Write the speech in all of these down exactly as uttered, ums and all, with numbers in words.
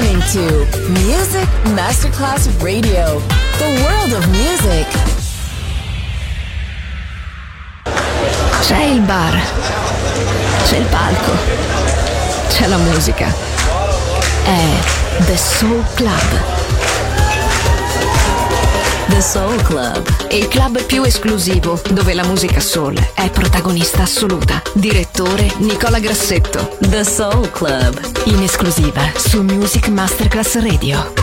listening to Music Masterclass Radio, the world of music. C'è il bar, c'è il palco, c'è la musica. È The Soul Club. The Soul Club, il club più esclusivo dove la musica soul è protagonista assoluta. Direttore Nicola Grassetto. The Soul Club, in esclusiva su Music Masterclass Radio.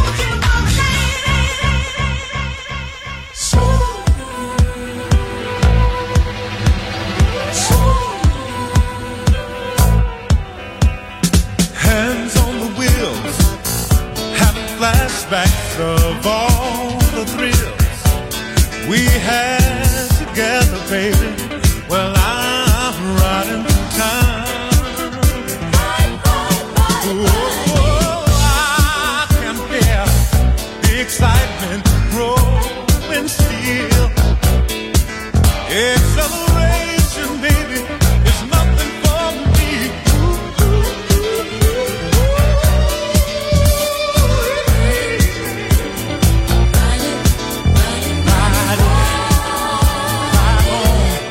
Hands on the wheels, having flashbacks of all the thrills we had together, baby. Well, I'm riding through time. Oh, I can hear the excitement growing still. Acceleration, baby, is nothing for me. Ride on.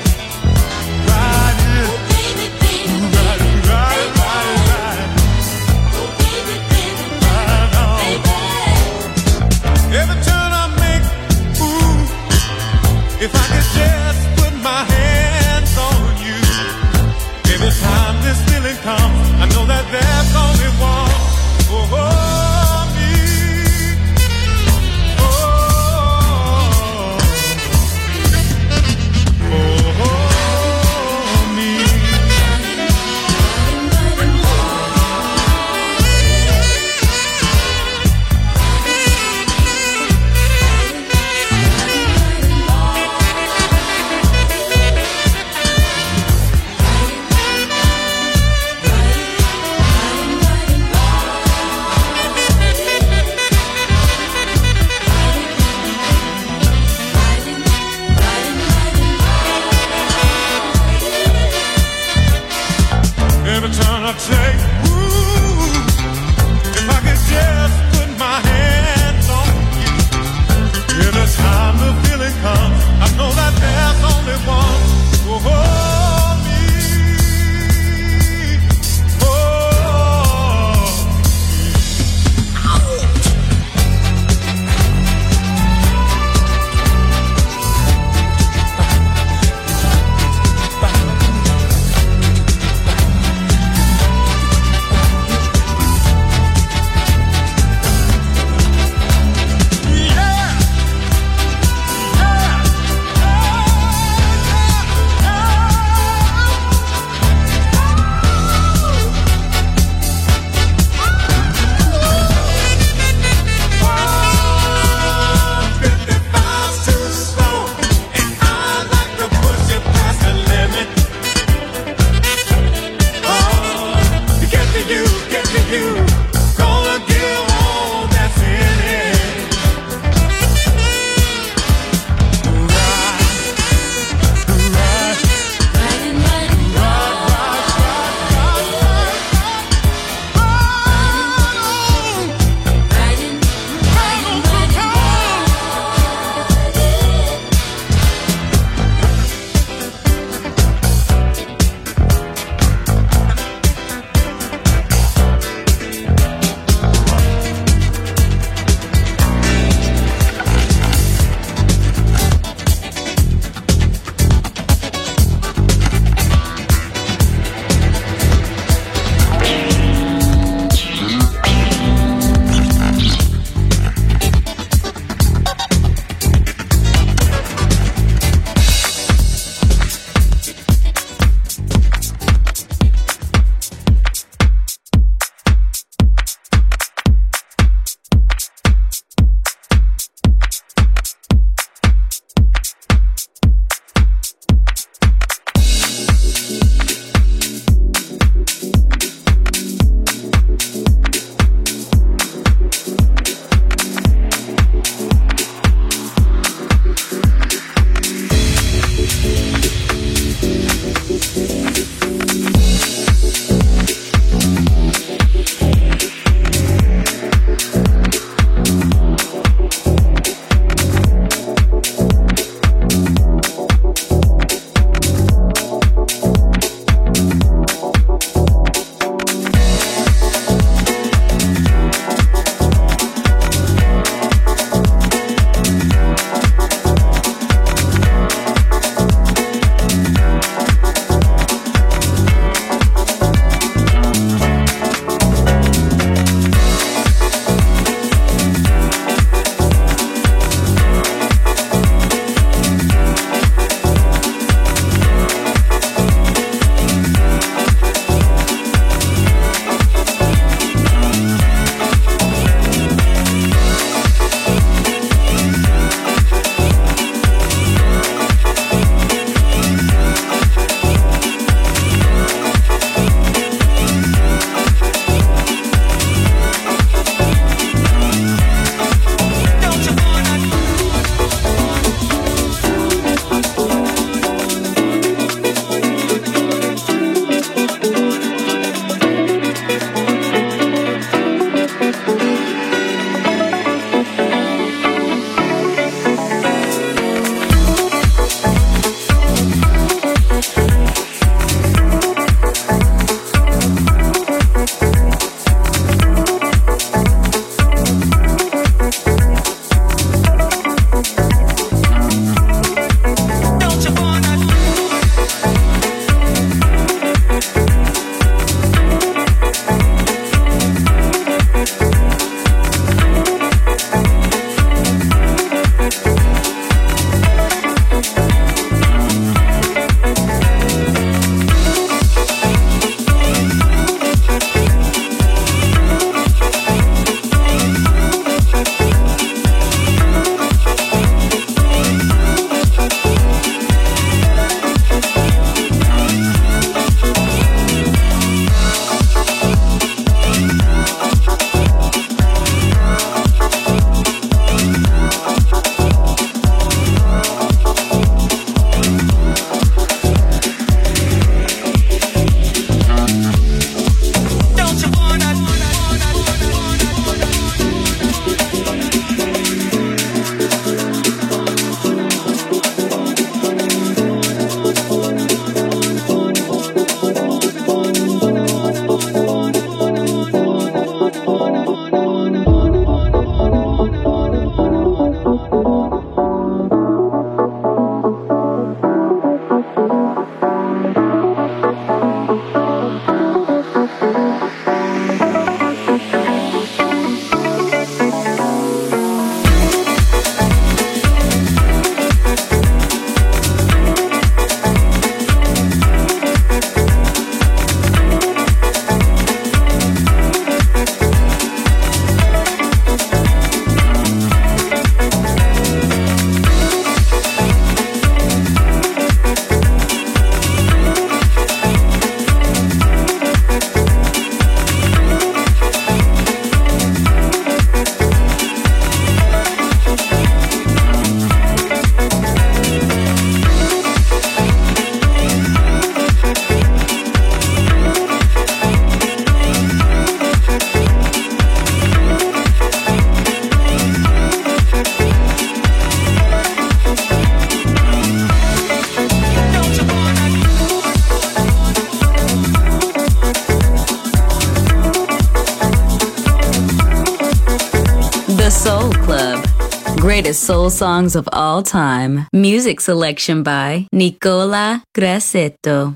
Greatest soul songs of all time. Music selection by Nicola Grassetto.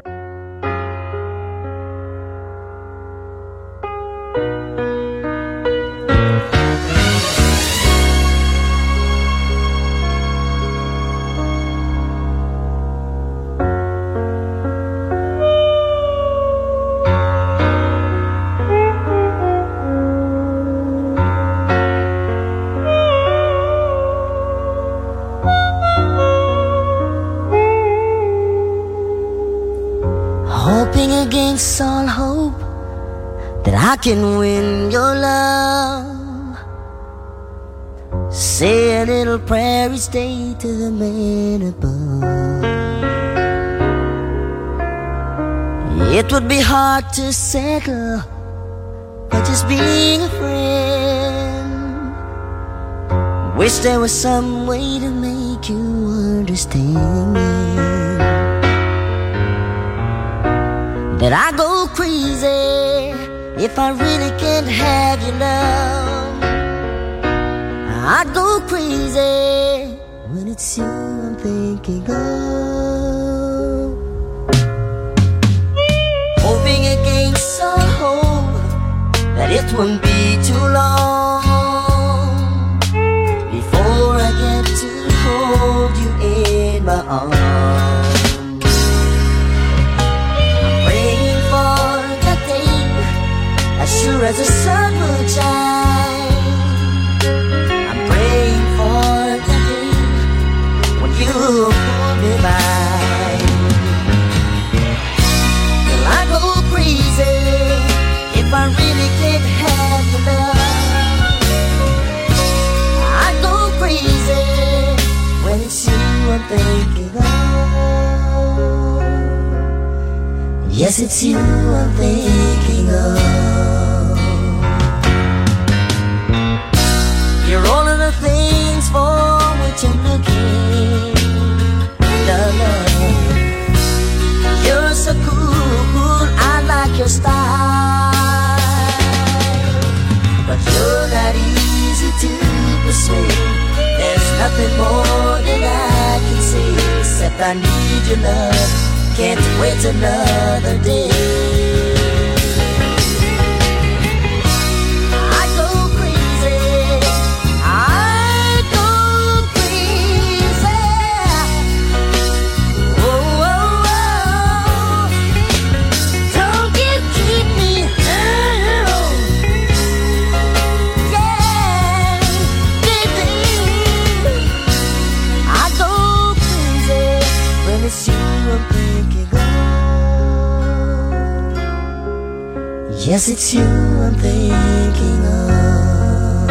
Against all hope that I can win your love. Say a little prayer each day to the man above. It would be hard to settle by just being a friend. Wish there was some way to make you understand that I go crazy if I really can't have your love. I go crazy when it's you I'm thinking of. Hoping against all hope that it won't be too long before I get to hold you in my arms. As sure as the sun will shine, I'm praying for the day when you hold me by. Well, I go crazy if I really can't have your love. I go crazy when it's you I'm thinking of. Yes, it's you I'm thinking of. You're all of the things for which I'm looking, love. You're so cool, I like your style, but you're not easy to persuade. There's nothing more that I can say except I need your love. Can't wait another day. Yes, it's you I'm thinking of.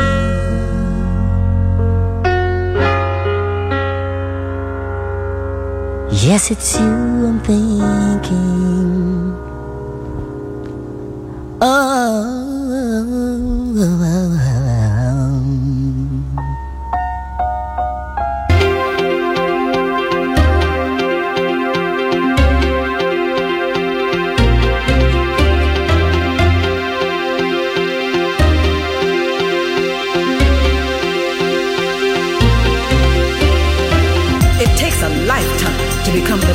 Yes, it's you I'm thinking of.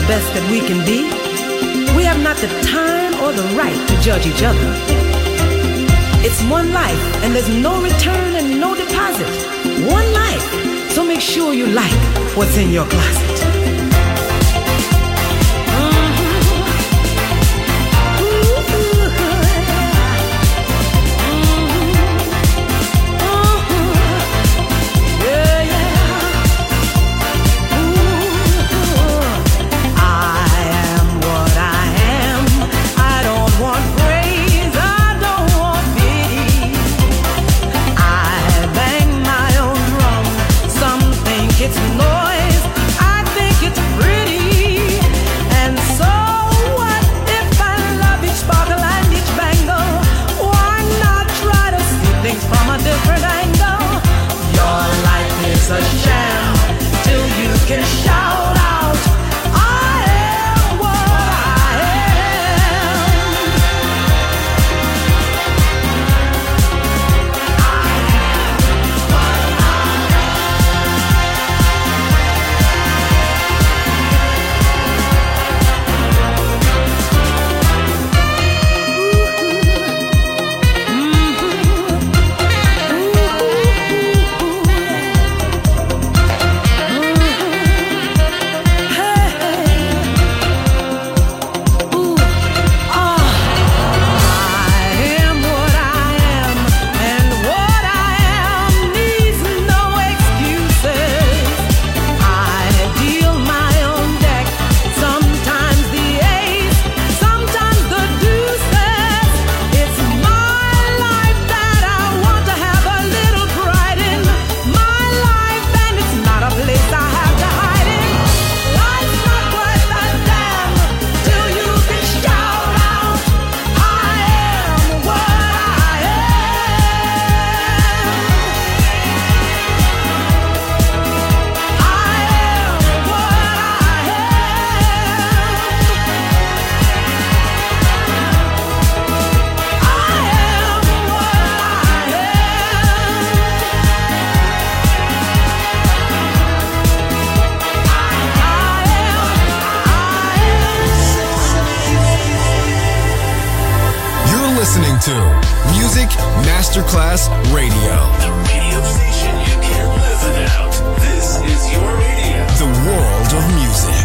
the best that we can be, we have not the time or the right to judge each other. It's one life, and there's no return and no deposit. One life, so make sure you like what's in your closet. It's noise, I think it's pretty. And so what if I love each sparkle and each bangle? Why not try to see things from a different angle? Your life is a sham till you can shout out, I am what I am. I am what I am. Listening to Music Masterclass Radio. The radio station you can't live without. This is your radio. The world of music.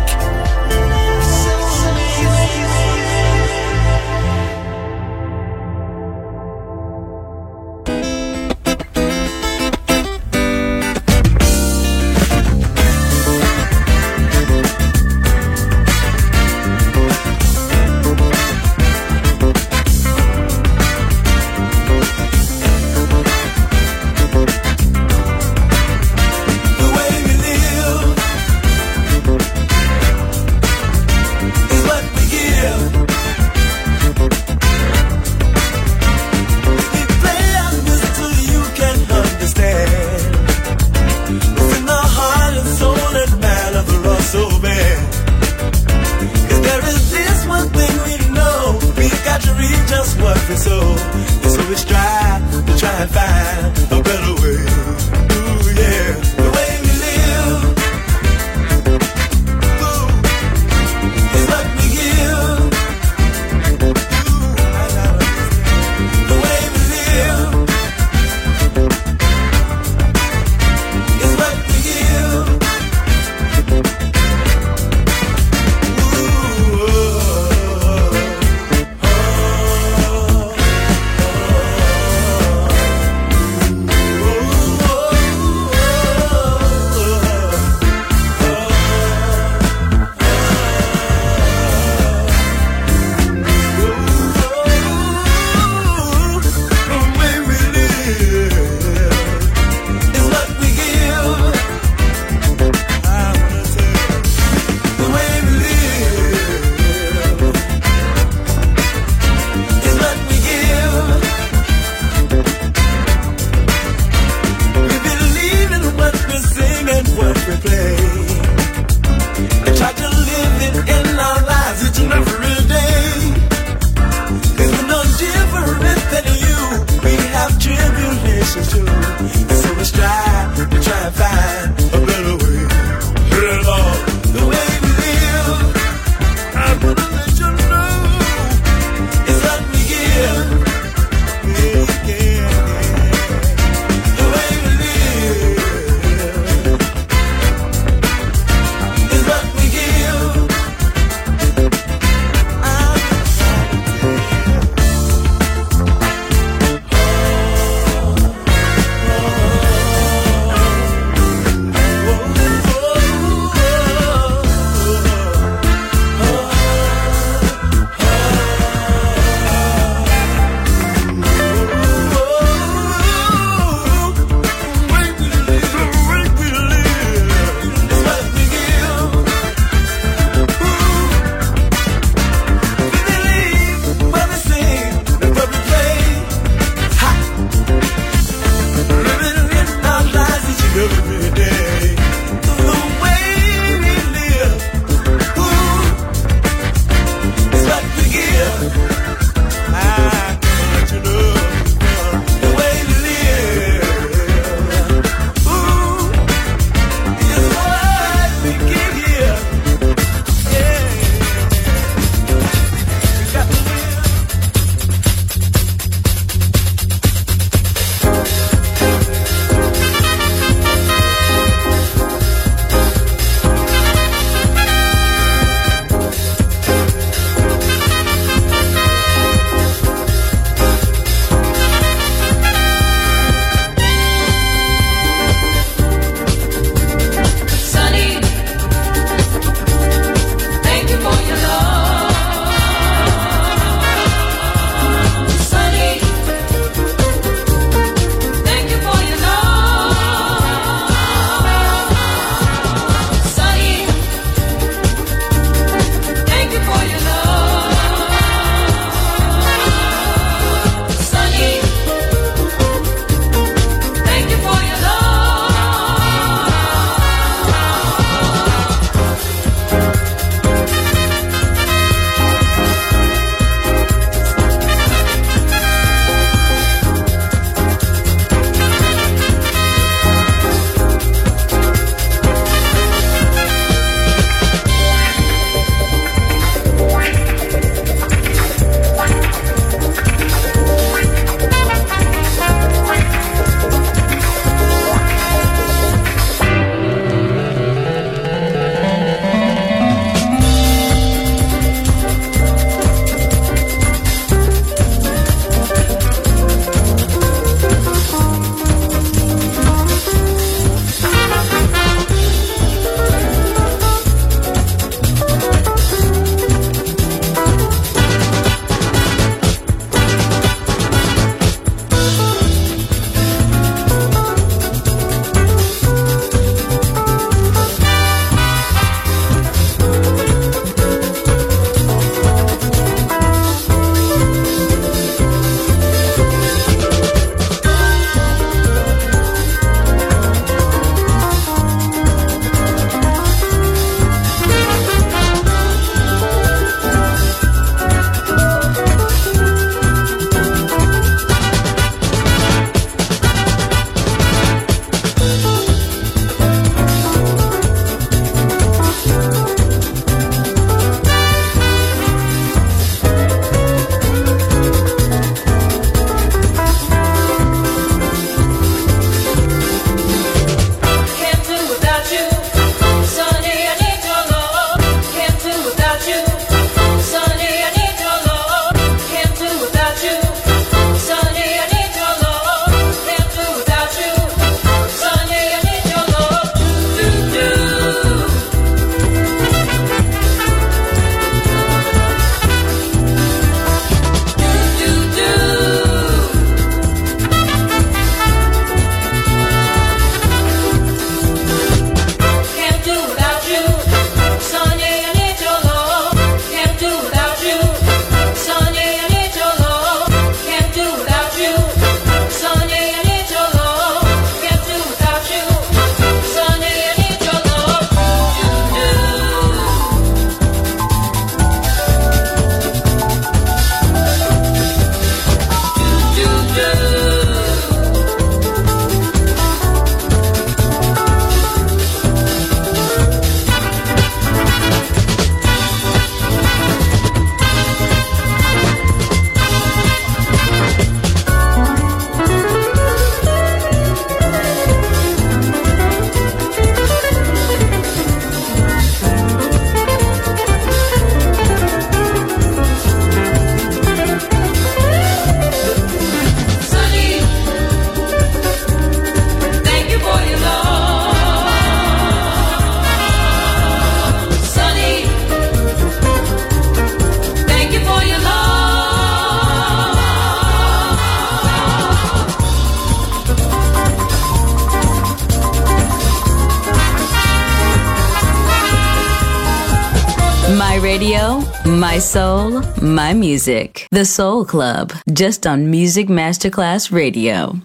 radio, my soul, my music. The Soul Club, just on Music Masterclass Radio.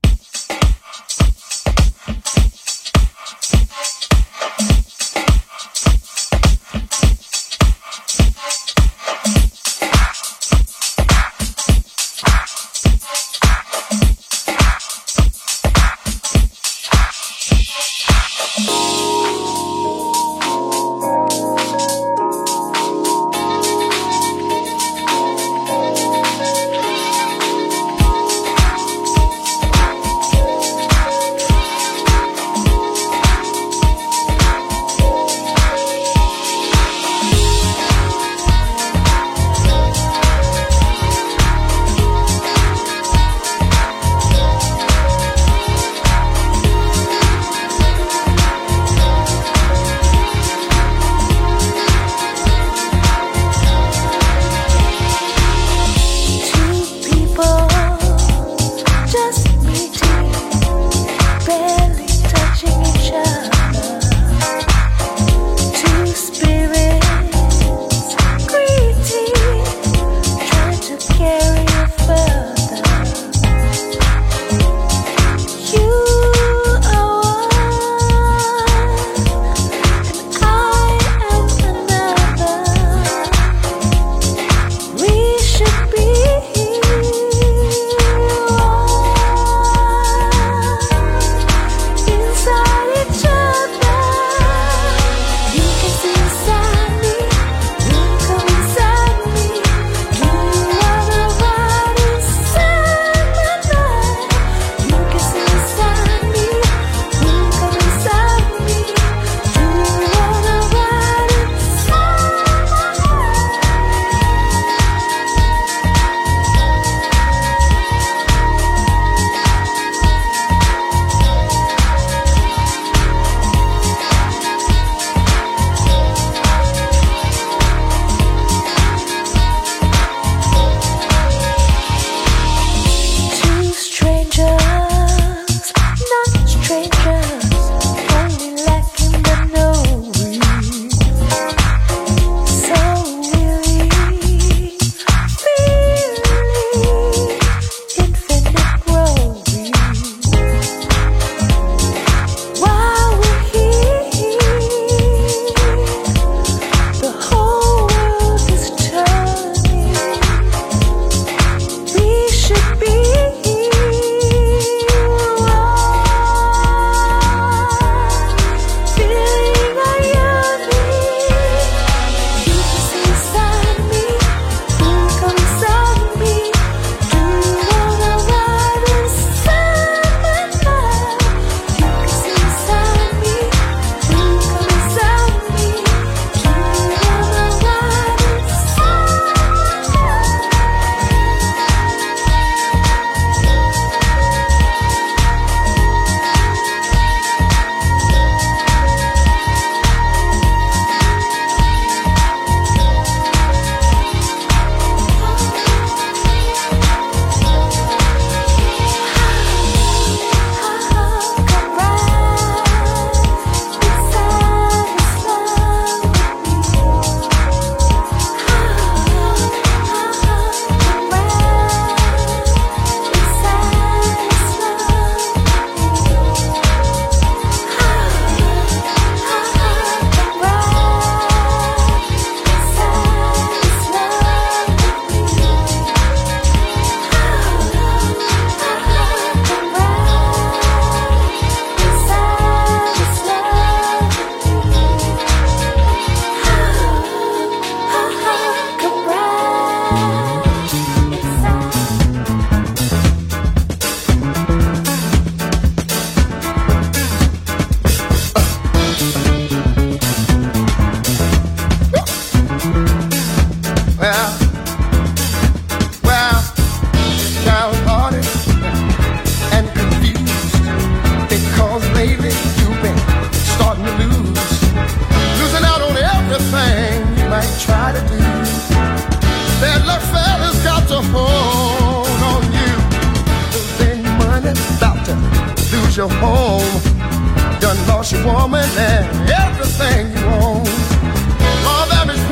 lose your home. Done lost your woman and everything you own. All that is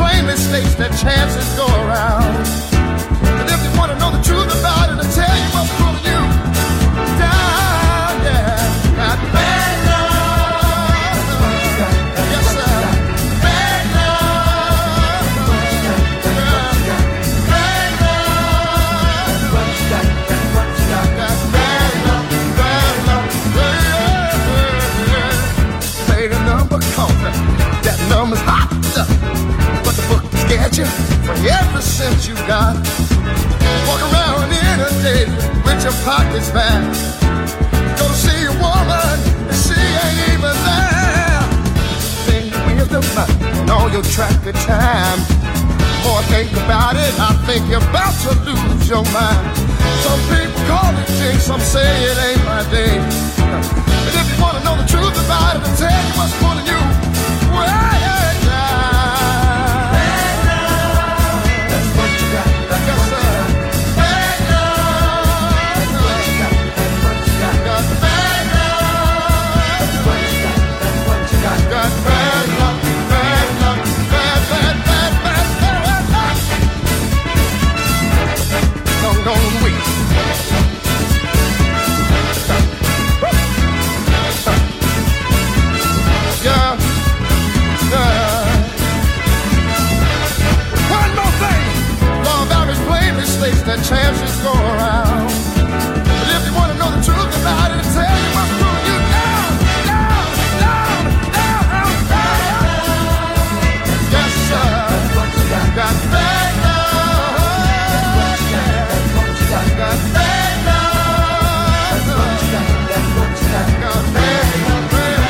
plainly states that chances go around. But if you want to know the truth about it, I'll tell you what's pulling you down, yeah. Got bad love. Yes, sir. Bad love. Yeah. Bad love. Got bad love, bad love. Yeah, yeah. Say the number counter. That number's hot. But the book scared you for every cent you got. Walk around in a day with your pockets back. Go to see a woman and she ain't even there. Think with the money and all your traffic time. More think about it, I think you're about to lose your mind. Some people call it jinx, some say it ain't my day. But if you want to know the truth about it, I'll tell you what's pulling you way down. That chances go around. But if you want to know the truth about it, I'll tell you what's pulling you down, down, down, down, down. Yes, sir. Got bad love. Yeah. Got bad love. Got bad love.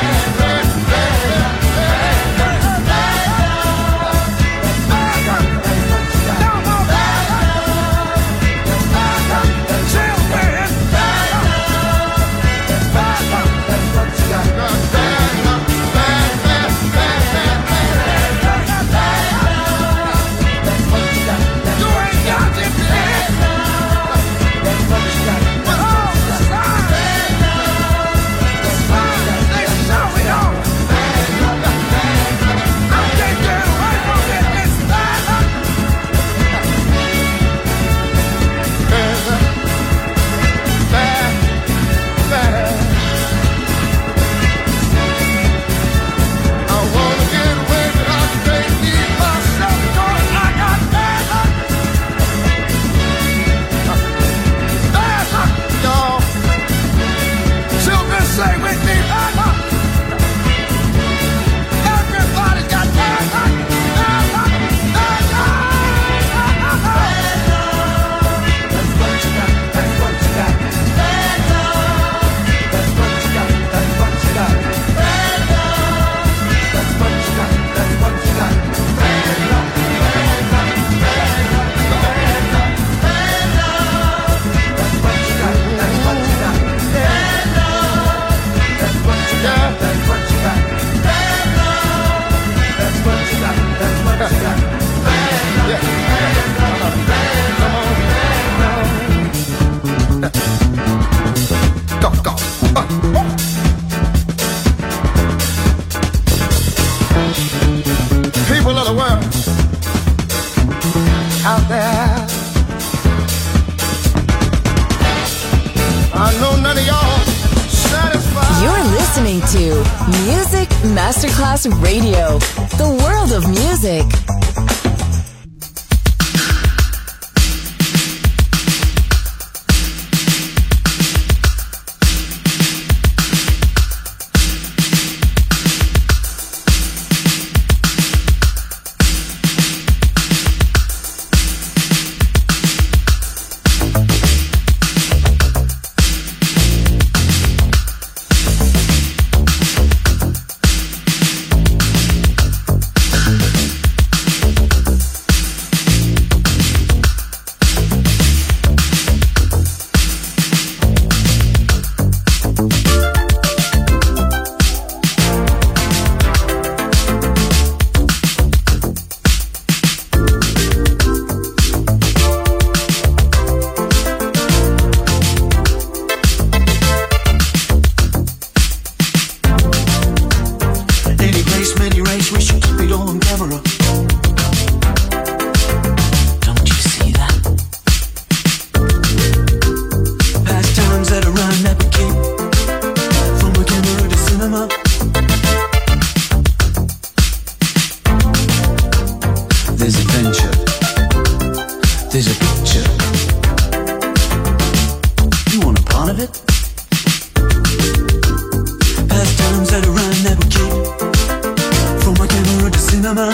Masterclass Radio, the world of music. cinema.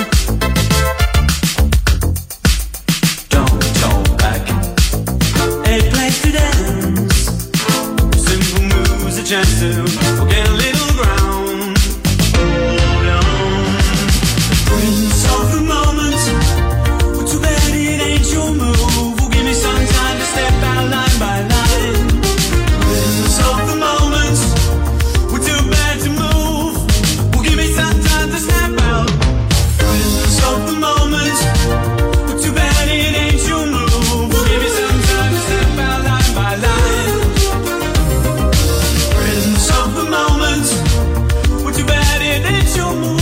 Don't talk back. A place to dance. Simple moves, a chance to get a little ground. Hold on. Prince of the moment. Well, too bad it ain't your move. Well, give me some time to step out line by line. Prince of the moment. We're too bad to move. Well, give me some time to snap out. Prince of the moment. We're too bad it ain't your move. Well, give me some time to step out line by line. Prince of the moment. We're too bad it ain't your move.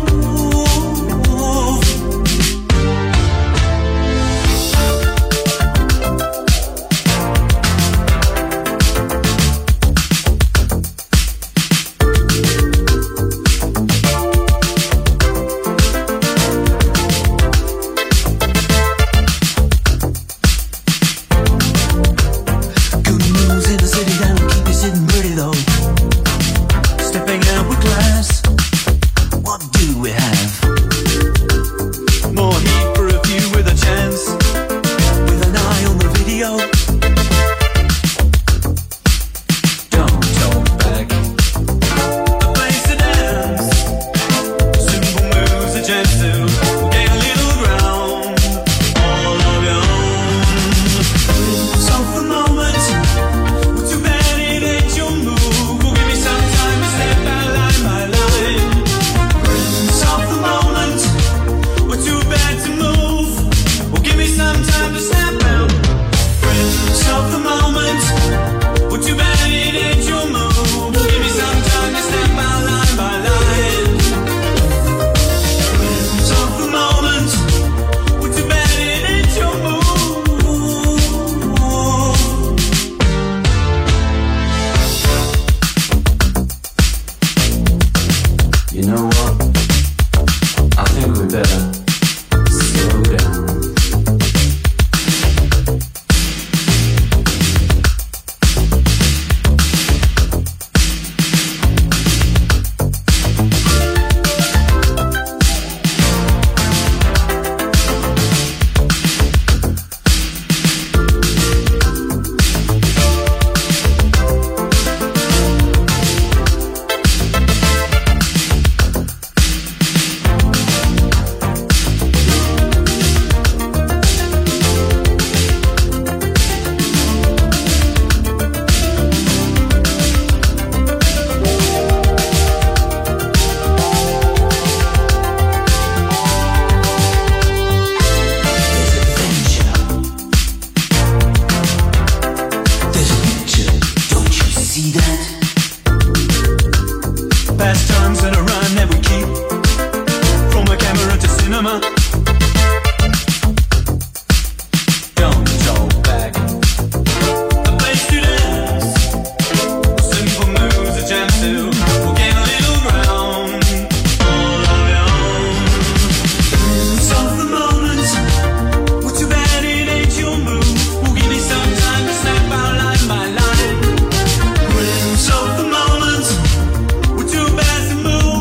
Good news in the city that'll keep you sitting pretty though. Stepping out with class. What do we have? More heat for a few with a chance. With an eye on the video. Don't talk back. A place to dance. Simple moves, a chance to get a little ground. All of your own. Prince of the moment. Well, too bad it ain't your move. Well, give me some time to step out line by line. Prince of the moment. Well, too bad to move. Well, give me some time to snap out. Prince of the moment. Well, too bad it ain't your move. Well, give me some time to step out line by line. Prince of the moment. Well, too bad it ain't your move. You know what? I think we better slow down. There's a picture, don't you see that? Pastimes and a run that we keep. From a camera to cinema. Don't talk back. A place to dance. Simple moves, a chance to get a little ground. All of your own. Prince of the moment. Well, too bad it ain't your move. Well, give me some time to snap out line by line. Prince of the moment. We're too bad to move.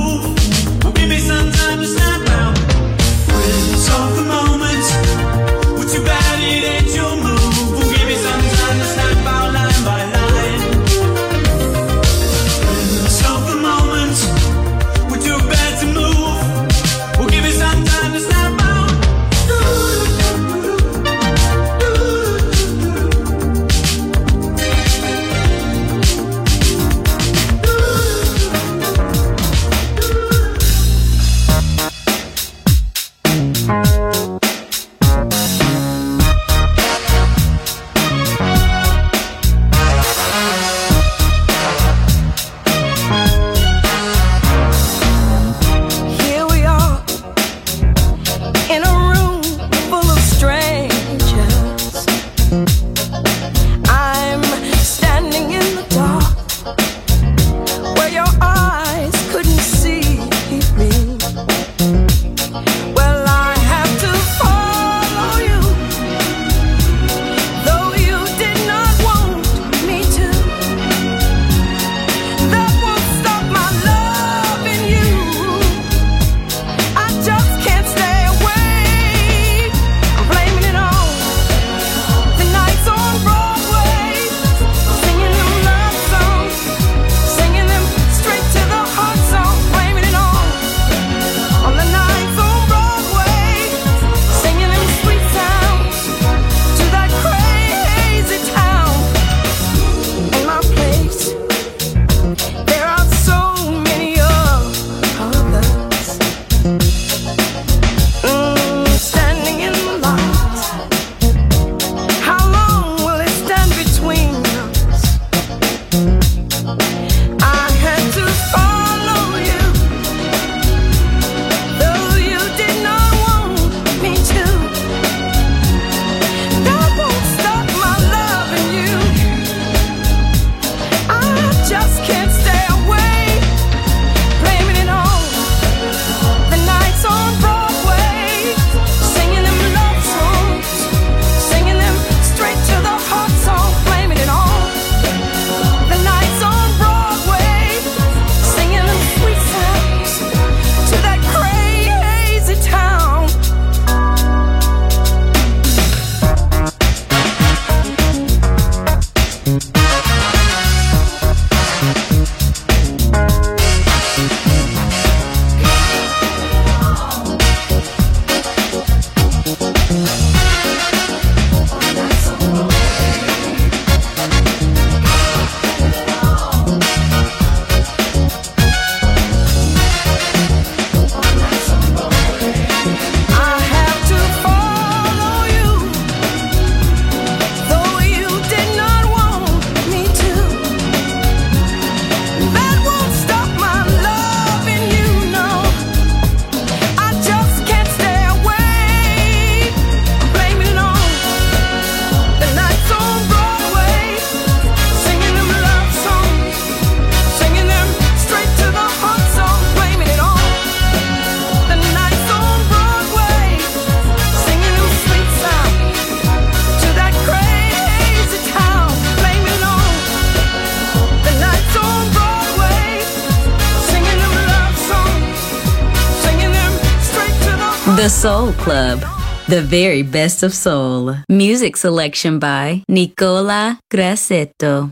The Soul Club, the very best of soul. Music selection by Nicola Grassetto.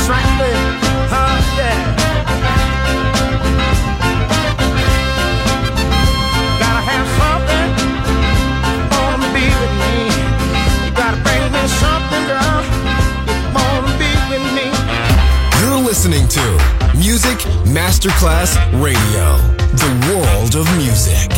frankly, huh, yeah. Gotta have something, wanna be with me. You gotta bring me something, girl, you wanna be with me. You're listening to Music Masterclass Radio, the world of music.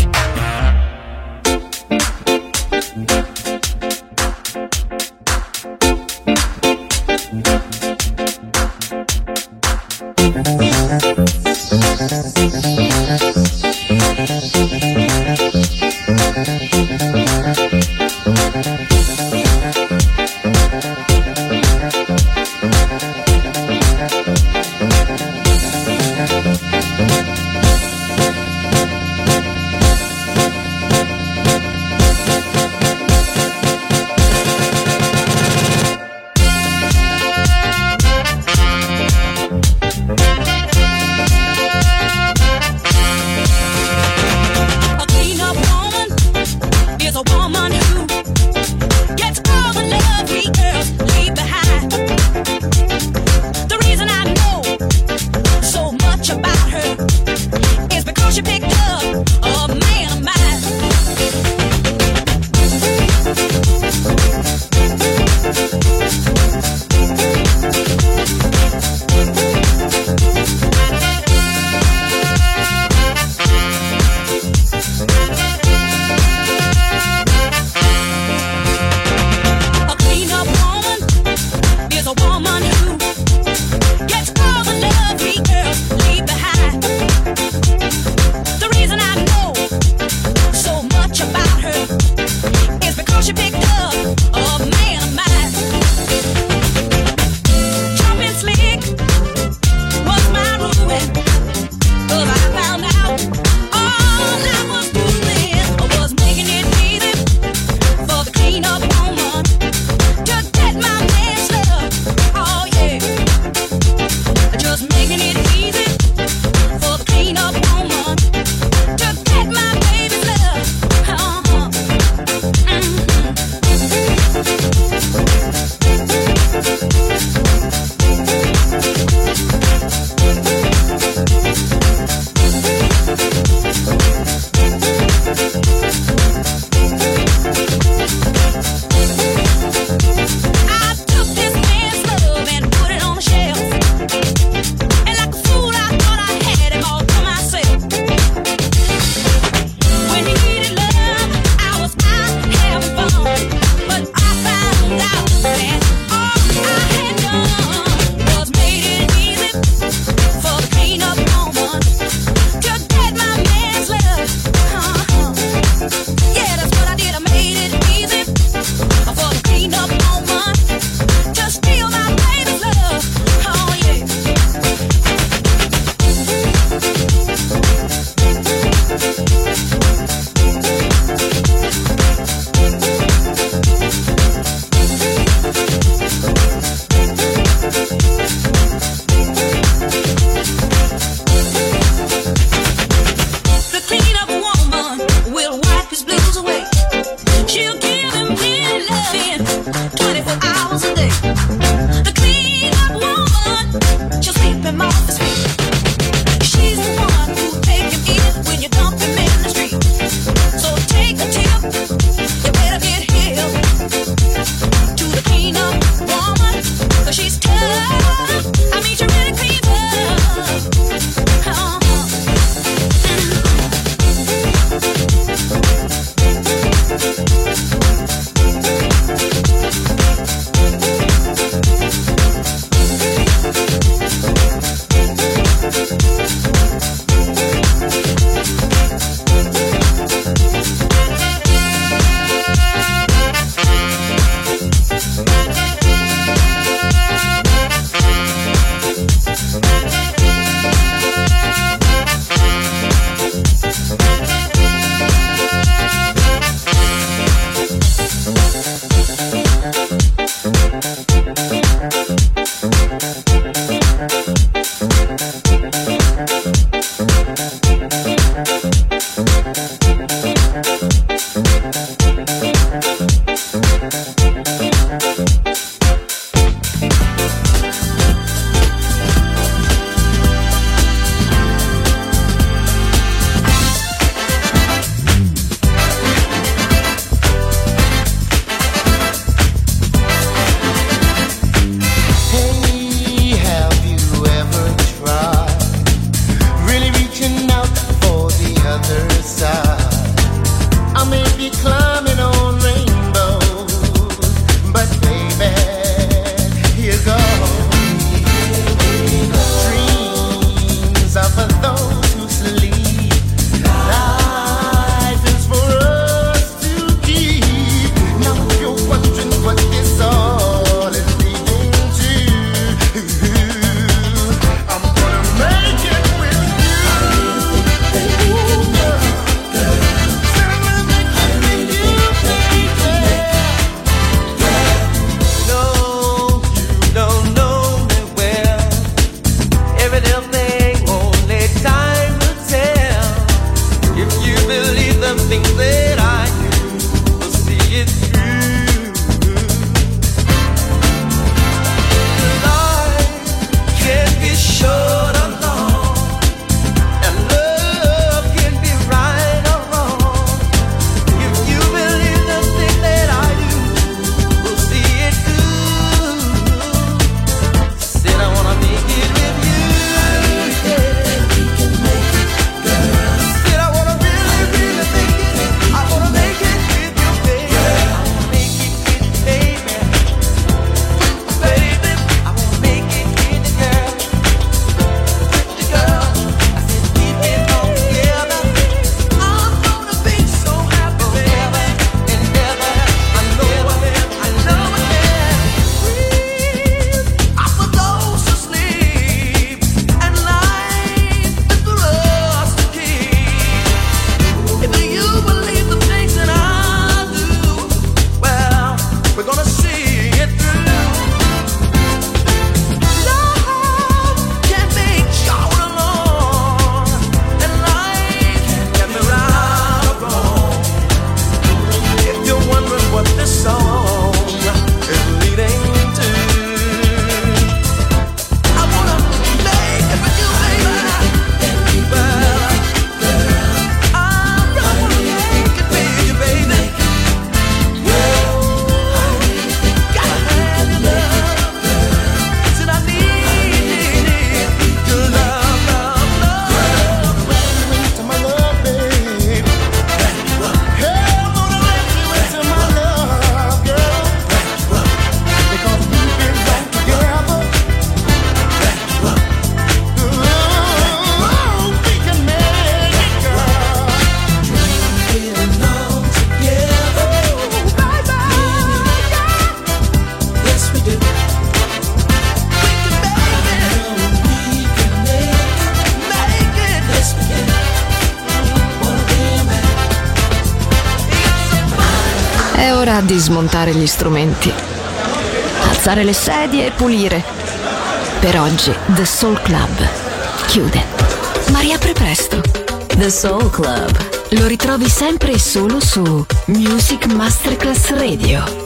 È ora di smontare gli strumenti, alzare le sedie e pulire. Per oggi The Soul Club chiude, ma riapre presto. The Soul Club lo ritrovi sempre e solo su Music Masterclass Radio.